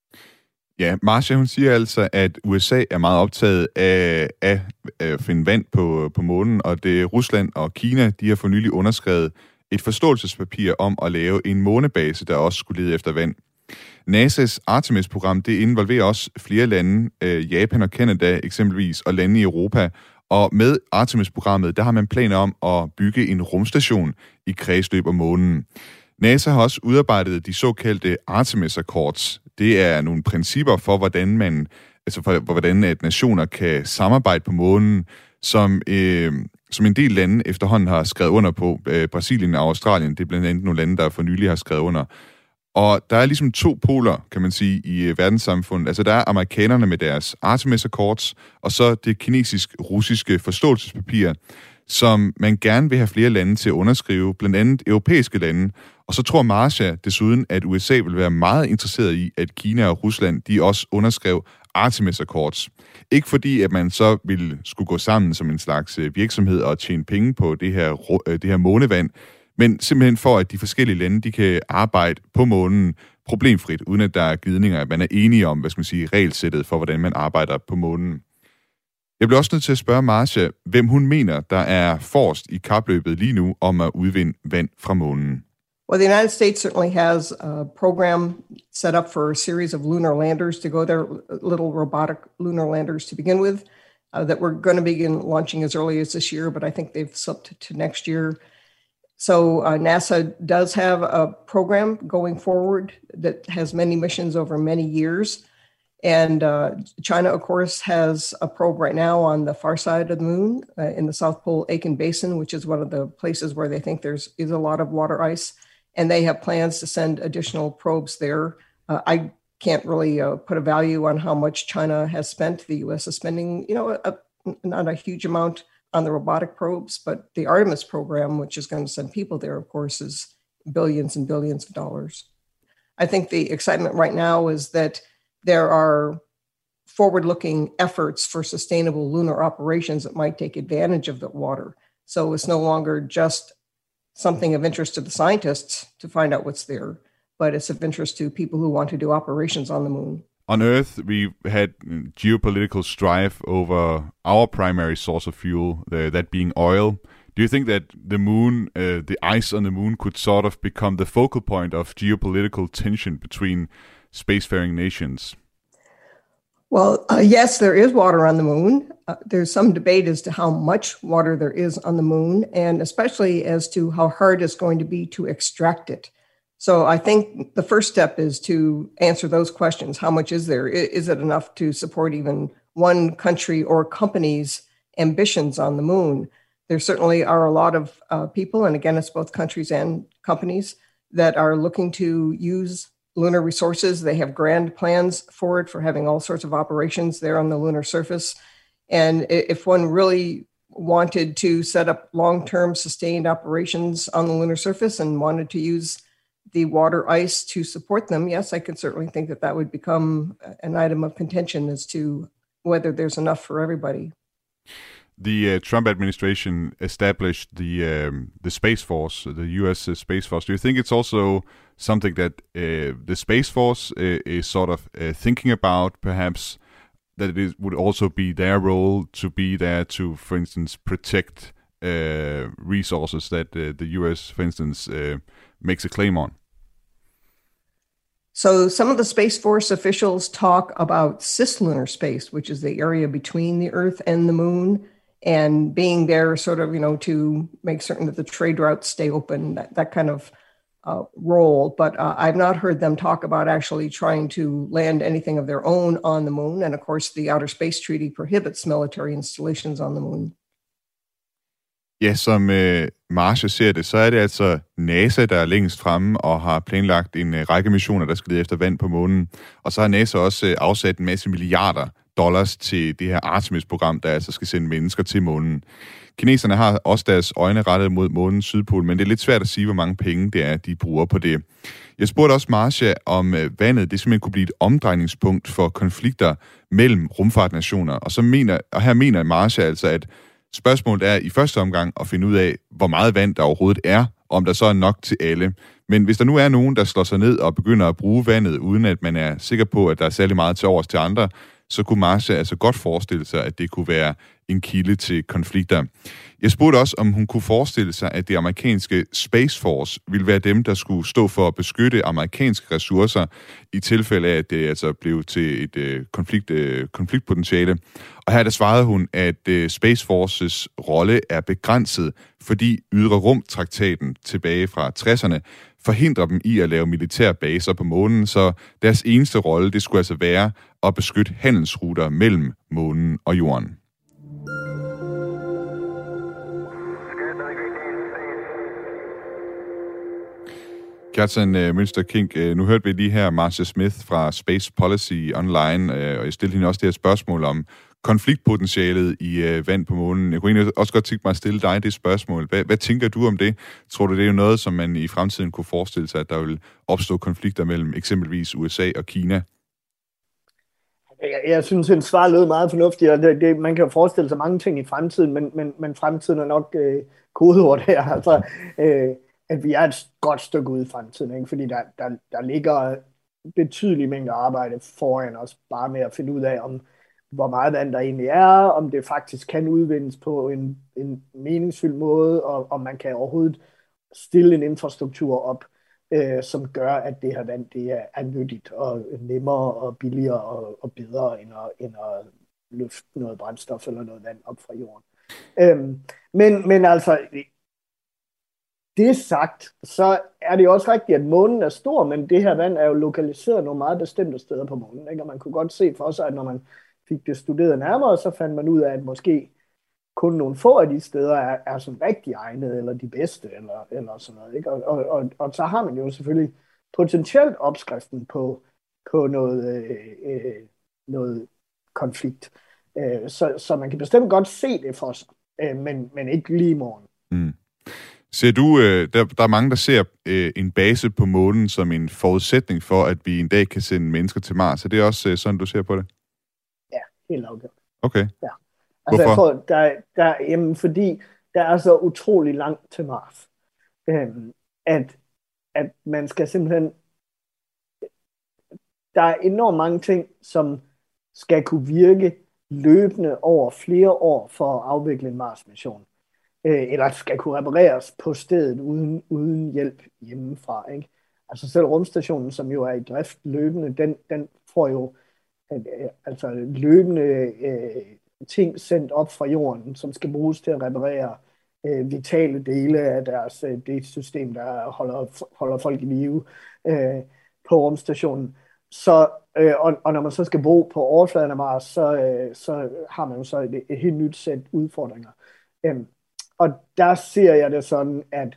Ja, Marcia, hun siger altså, at U S A er meget optaget af, af at finde vand på, på månen, og det Rusland og Kina, de har for nylig underskrevet et forståelsespapir om at lave en månebase, der også skulle lede efter vand. NASA's Artemis-program, det involverer også flere lande, øh, Japan og Canada eksempelvis, og lande i Europa. Og med Artemis-programmet, der har man planer om at bygge en rumstation i kredsløb om månen. NASA har også udarbejdet de såkaldte Artemis Accords. Det er nogle principper for, hvordan man, altså for, for hvordan at nationer kan samarbejde på månen, som, øh, som en del lande efterhånden har skrevet under på. Øh, Brasilien og Australien, det er blandt andet nogle lande, der for nylig har skrevet under. Og der er ligesom to poler, kan man sige, i verdenssamfundet. Altså der er amerikanerne med deres Artemis Accords, og så det kinesisk-russiske forståelsespapir, som man gerne vil have flere lande til at underskrive, blandt andet europæiske lande. Og så tror Marcia desuden, at U S A vil være meget interesseret i, at Kina og Rusland, de også underskrev Artemis Accords. Ikke fordi, at man så ville skulle gå sammen som en slags virksomhed og tjene penge på det her, det her månevand, men simpelthen for, at de forskellige lande, de kan arbejde på månen problemfrit, uden at der er glidninger, at man er enige om, hvad skal man sige, regelsættet for, hvordan man arbejder på månen. Jeg bliver også nødt til at spørge Marcia, hvem hun mener, der er forrest i kapløbet lige nu om at udvinde vand fra månen. Well, the United States certainly has a program set up for a series of lunar landers to go there, little robotic lunar landers to begin with, uh, that we're going to begin launching as early as this year, but I think they've slipped to next year. So uh, NASA does have a program going forward that has many missions over many years. And uh, China, of course, has a probe right now on the far side of the moon uh, in the South Pole Aitken Basin, which is one of the places where they think there's is a lot of water ice. And they have plans to send additional probes there. Uh, I can't really uh, put a value on how much China has spent. The U S is spending, you know, a, not a huge amount on the robotic probes, but the Artemis program, which is going to send people there, of course, is billions and billions of dollars. I think the excitement right now is that there are forward-looking efforts for sustainable lunar operations that might take advantage of the water. So it's no longer just something of interest to the scientists to find out what's there, but it's of interest to people who want to do operations on the moon. On Earth, we've had geopolitical strife over our primary source of fuel, uh, that being oil. Do you think that the moon, uh, the ice on the moon could sort of become the focal point of geopolitical tension between spacefaring nations? Well, uh, yes, there is water on the moon. Uh, there's some debate as to how much water there is on the moon, and especially as to how hard it's going to be to extract it. So I think the first step is to answer those questions. How much is there? Is it enough to support even one country or company's ambitions on the moon? There certainly are a lot of uh, people, and again, it's both countries and companies, that are looking to use lunar resources. They have grand plans for it, for having all sorts of operations there on the lunar surface. And if one really wanted to set up long-term sustained operations on the lunar surface and wanted to use the water ice to support them, yes, I can certainly think that that would become an item of contention as to whether there's enough for everybody. The uh, Trump administration established the um, the Space Force, the U S uh, Space Force. Do you think it's also something that uh, the Space Force uh, is sort of uh, thinking about, perhaps, that it is, would also be their role to be there to, for instance, protect uh, resources that uh, the U S, for instance, uh, makes a claim on? So some of the Space Force officials talk about cislunar space, which is the area between the Earth and the Moon. and being there sort of, you know, to make certain that the trade routes stay open, that, that kind of uh, role. But uh, I've not heard them talk about actually trying to land anything of their own on the moon. And of course, the Outer Space Treaty prohibits military installations on the moon. Ja, som øh, Marcia ser det, så er det altså NASA, der er længst fremme og har planlagt en øh, række missioner, der skal lede efter vand på månen. Og så har NASA også øh, afsat en masse milliarder dollars til det her Artemis-program, der altså skal sende mennesker til månen. Kineserne har også deres øjne rettet mod månens sydpol, men det er lidt svært at sige, hvor mange penge det er, de bruger på det. Jeg spurgte også Marcia, om øh, vandet det simpelthen kunne blive et omdrejningspunkt for konflikter mellem rumfartnationer. Og, så mener, og her mener Marcia altså, at spørgsmålet er i første omgang at finde ud af, hvor meget vand der overhovedet er, om der så er nok til alle. Men hvis der nu er nogen, der slår sig ned og begynder at bruge vandet, uden at man er sikker på, at der er særlig meget til overs til andre, så kunne Marcia altså godt forestille sig, at det kunne være en kilde til konflikter. Jeg spurgte også, om hun kunne forestille sig, at det amerikanske Space Force ville være dem, der skulle stå for at beskytte amerikanske ressourcer i tilfælde af, at det altså blev til et øh, konflikt, øh, konfliktpotentiale. Og her der svarede hun, at øh, Space Forces rolle er begrænset, fordi Ydre Rum-traktaten tilbage fra tresserne forhindrer dem i at lave militære baser på månen, så deres eneste rolle, det skulle altså være at beskytte handelsruter mellem månen og jorden. Kjartan uh, Mønster Kink, uh, nu hørte vi lige her Marcia Smith fra Space Policy Online, uh, og jeg stillede hende også det her spørgsmål om konfliktpotentialet i uh, vand på månen. Jeg kunne egentlig også godt tænke mig at stille dig det spørgsmål. Hvad, hvad tænker du om det? Tror du, det er jo noget, som man i fremtiden kunne forestille sig, at der vil opstå konflikter mellem eksempelvis U S A og Kina? Jeg, jeg synes, at svaret lød meget fornuftigt, og det, det, man kan jo forestille sig mange ting i fremtiden, men, men, men fremtiden er nok øh, kodeord her. Altså, øh, at vi er et godt stykke ude i fremtiden, ikke? Fordi der, der, der ligger betydelige mængder arbejde foran os, bare med at finde ud af, om hvor meget vand der egentlig er, om det faktisk kan udvindes på en, en meningsfyldt måde, og om man kan overhovedet stille en infrastruktur op, øh, som gør, at det her vand det er, er nyttigt og nemmere og billigere og, og bedre, end at, end at løfte noget brændstof eller noget vand op fra jorden. Øhm, men, men altså, det sagt, så er det også rigtigt, at månen er stor, men det her vand er jo lokaliseret nogle meget bestemte steder på månen, ikke? Og man kunne godt se for sig, at når man fik det studeret nærmere, så fandt man ud af, at måske kun nogle få af de steder er, er sådan rigtig egnede, eller de bedste, eller, eller sådan noget, ikke? Og, og, og, og så har man jo selvfølgelig potentielt opskriften på, på noget, øh, øh, noget konflikt. Øh, så, så man kan bestemt godt se det for sig, øh, men, men ikke lige i morgen. Mm. Ser du, øh, der, der er mange, der ser øh, en base på månen som en forudsætning for, at vi en dag kan sende mennesker til Mars. Er det også øh, sådan, du ser på det? Ja, helt afgjort. Okay. Ja. Altså, Hvorfor? jeg tror, der, der, jamen, fordi der er så utrolig langt til Mars, øhm, at, at man skal simpelthen... Der er enormt mange ting, som skal kunne virke løbende over flere år for at afvikle en Mars-mission. Øh, eller skal kunne repareres på stedet uden, uden hjælp hjemmefra, ikke? Altså selv rumstationen, som jo er i drift løbende, den, den får jo øh, altså løbende øh, ting sendt op fra jorden, som skal bruges til at reparere øh, vitale dele af deres øh, det system, der holder, holder folk i live øh, på rumstationen. Så, øh, og, og når man så skal bo på overfladen af Mars, så, øh, så har man jo så et, et helt nyt sæt udfordringer. Øh, og der ser jeg det sådan, at,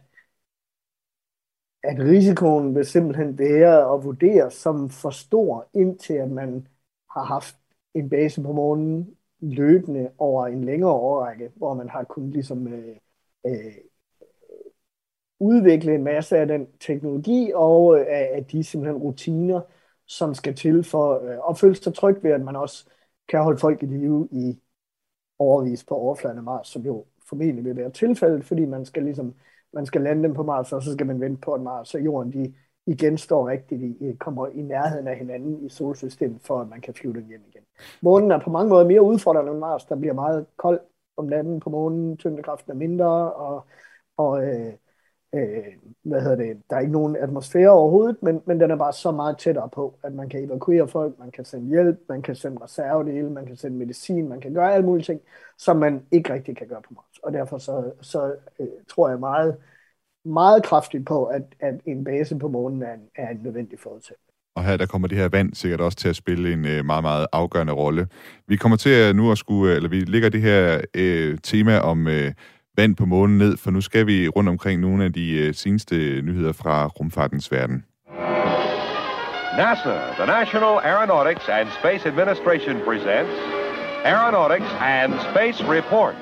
at risikoen vil simpelthen være at vurdere som for stor, indtil at man har haft en base på månen løbende over en længere årrække, hvor man har kunnet ligesom øh, øh, udvikle en masse af den teknologi og øh, af de simpelthen rutiner, som skal til for øh, at føle sig tryg ved, at man også kan holde folk i live i overvis på overfladen af Mars, som jo formentlig vil være tilfældet, fordi man skal ligesom man skal lande dem på Mars, og så skal man vente på, at Mars og Jorden de igen står rigtigt, i, kommer i nærheden af hinanden i solsystemet, for at man kan flyve dem hjem igen. Månen er på mange måder mere udfordrende end Mars. Der bliver meget koldt om natten på månen, tyngdekraften er mindre, og, og, øh, øh, hvad hedder det, der er ikke nogen atmosfære overhovedet, men, men den er bare så meget tættere på, at man kan evakuere folk, man kan sende hjælp, man kan sende reservedele, man kan sende medicin, man kan gøre alle mulige ting, som man ikke rigtig kan gøre på Mars. Og derfor så, så øh, tror jeg meget, meget kraftigt på, at, at en base på månen er en, er en nødvendig forudsætning. Og her der kommer det her vand sikkert også til at spille en øh, meget, meget afgørende rolle. Vi kommer til at nu at skulle, eller vi lægger det her øh, tema om øh, vand på månen ned, for nu skal vi rundt omkring nogle af de øh, seneste nyheder fra rumfartens verden. NASA, the National Aeronautics and Space Administration presents Aeronautics and Space Report.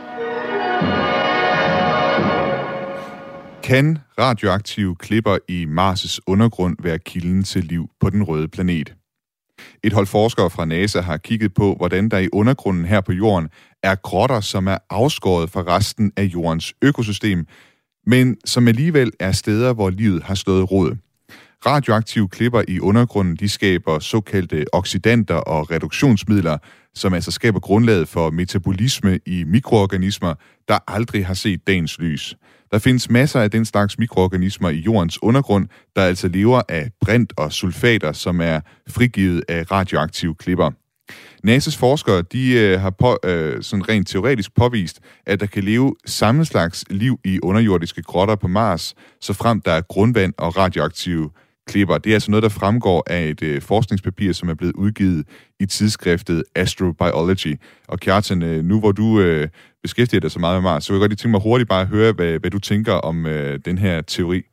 Kan radioaktive klipper i Mars' undergrund være kilden til liv på den røde planet? Et hold forskere fra NASA har kigget på, hvordan der i undergrunden her på jorden er grotter, som er afskåret fra resten af jordens økosystem, men som alligevel er steder, hvor livet har slået rod. Radioaktive klipper i undergrunden, de skaber såkaldte oxidanter og reduktionsmidler, som altså skaber grundlaget for metabolisme i mikroorganismer, der aldrig har set dagens lys. Der findes masser af den slags mikroorganismer i jordens undergrund, der altså lever af brint og sulfater, som er frigivet af radioaktive klipper. N A S A's forskere de, øh, har på, øh, sådan rent teoretisk påvist, at der kan leve samme slags liv i underjordiske grotter på Mars, så frem der er grundvand og radioaktive klipper. Det er altså noget, der fremgår af et øh, forskningspapir, som er blevet udgivet i tidsskriftet Astrobiology. Og Kjartan, øh, nu hvor du øh, beskæftiger dig så meget med Mars, så vil jeg godt lige tænke mig hurtigt bare at høre, hvad, hvad du tænker om øh, den her teori.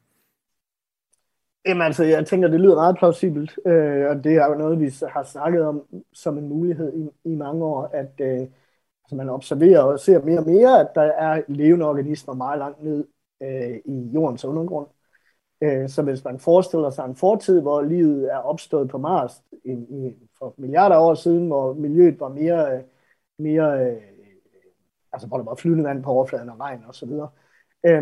Jamen altså, jeg tænker, det lyder meget plausibelt, øh, og det er jo noget, vi har snakket om som en mulighed i, i mange år, at øh, altså man observerer og ser mere og mere, at der er levende organismer meget langt ned øh, i jordens undergrund. Øh, så hvis man forestiller sig en fortid, hvor livet er opstået på Mars i, i, for milliarder af år siden, hvor miljøet var mere, mere øh, altså hvor der var flydende vand på overfladen og regn og så videre, øh,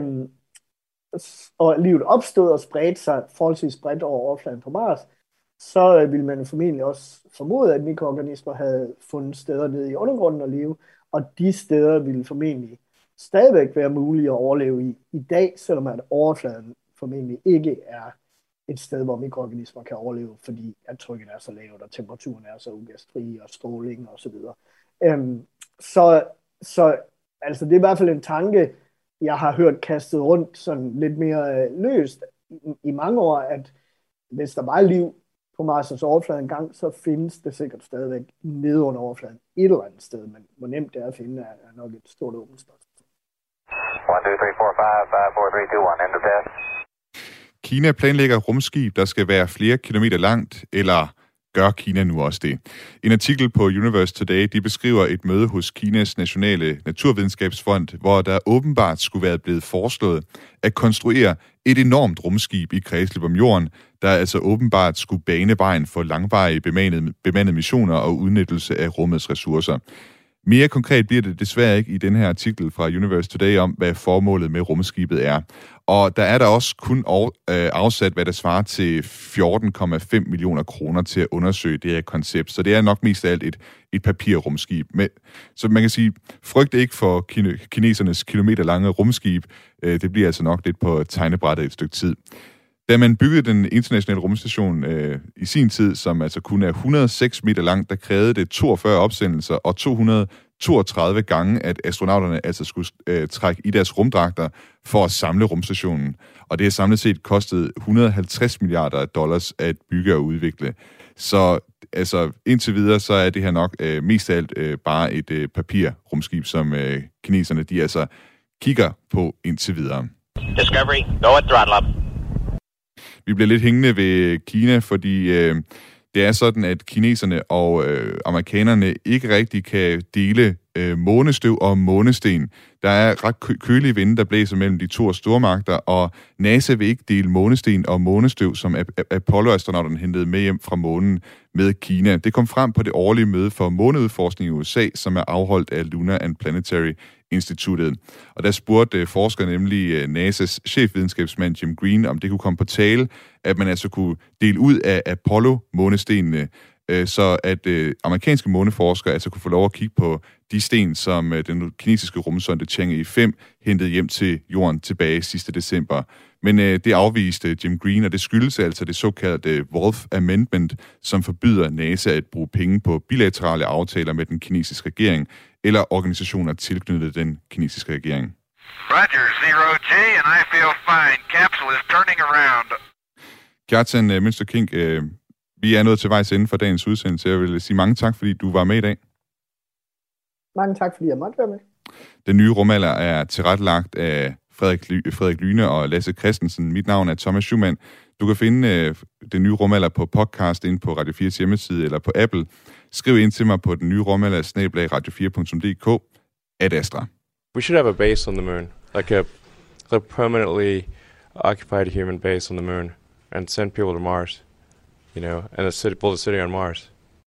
og livet opstod og spredte sig forholdsvis bredt over overfladen på Mars, så øh, ville man formentlig også formode, at mikroorganismer havde fundet steder nede i undergrunden at leve, og de steder ville formentlig stadigvæk være mulige at overleve i i dag, selvom at overfladen formentlig ikke er et sted, hvor mikroorganismer kan overleve, fordi at trykket er så lavt, og temperaturen er så ugæstfri, og stråling og så videre. Øhm, så, så altså det er i hvert fald en tanke, jeg har hørt kastet rundt sådan lidt mere øh, løst i, i mange år, at hvis der var liv på Mars' overflade engang, så findes det sikkert stadigvæk nede under overfladen et eller andet sted, men hvor nemt det er at finde, er, er nok et stort åbent spørgsmål. one two three four five five four three two one, end of test. Kina planlægger rumskib, der skal være flere kilometer langt, eller gør Kina nu også det? En artikel på Universe Today, de beskriver et møde hos Kinas Nationale Naturvidenskabsfond, hvor der åbenbart skulle være blevet foreslået at konstruere et enormt rumskib i kredsløb om jorden, der altså åbenbart skulle bane vejen for langvarige bemandede, bemandede missioner og udnyttelse af rummets ressourcer. Mere konkret bliver det desværre ikke i den her artikel fra Universe Today om, hvad formålet med rumskibet er. Og der er der også kun afsat, hvad der svarer til fjorten komma fem millioner kroner til at undersøge det her koncept. Så det er nok mest af alt et, et papirrumskib. Men, så man kan sige, frygt ikke for kine, kinesernes kilometerlange rumskib. Det bliver altså nok lidt på tegnebrættet et stykke tid. Da man byggede den internationale rumstation øh, i sin tid, som altså kun er et hundrede og seks meter lang, der krævede det toogfyrre opsendelser og to hundrede og toogtredive gange, at astronauterne altså skulle øh, trække i deres rumdragter for at samle rumstationen. Og det har samlet set kostet et hundrede og halvtreds milliarder dollars at bygge og udvikle. Så altså, indtil videre, så er det her nok øh, mest af alt øh, bare et øh, papirrumskib, som øh, kineserne de altså kigger på indtil videre. Discovery, go at throttle up. Vi bliver lidt hængende ved Kina, fordi øh, det er sådan, at kineserne og øh, amerikanerne ikke rigtig kan dele øh, månestøv og månesten. Der er ret kø- kølige vinde, der blæser mellem de to stormagter, og NASA vil ikke dele månesten og månestøv, som Apollo-astronauterne hentede med hjem fra månen med Kina. Det kom frem på det årlige møde for måneudforskning i U S A, som er afholdt af Lunar and Planetary Instituttet. Og der spurgte forskere nemlig N A S A's chefvidenskabsmand Jim Green, om det kunne komme på tale, at man altså kunne dele ud af Apollo-månestenene, så at amerikanske måneforskere altså kunne få lov at kigge på de sten, som den kinesiske rumsonde Chang'e fem hentede hjem til jorden tilbage sidste december. Men øh, det afviste Jim Green, og det skyldes altså det såkaldte Wolf Amendment, som forbyder NASA at bruge penge på bilaterale aftaler med den kinesiske regering eller organisationer tilknyttet den kinesiske regering. Roger, zero G, and I feel fine. Capsule is turning around. Kjartan uh, Mønster King, uh, vi er nået til vejs ende for dagens udsendelse. Jeg vil sige mange tak, fordi du var med i dag. Mange tak, fordi jeg måtte være med. Den nye rumalder er tilrettelagt af Frederik, Ly- Frederik Lyne og Lasse Christensen. Mit navn er Thomas Schumann. Du kan finde uh, den nye rumalder på podcast inde på Radio fires hjemmeside eller på Apple. Skriv ind til mig på den nye rumalder snabel-a radio fire punktum d k. Ad Astra. We should have a base on the moon, like a, a permanently occupied human base on the moon, and send people to Mars, you know, and a city, build a city on Mars.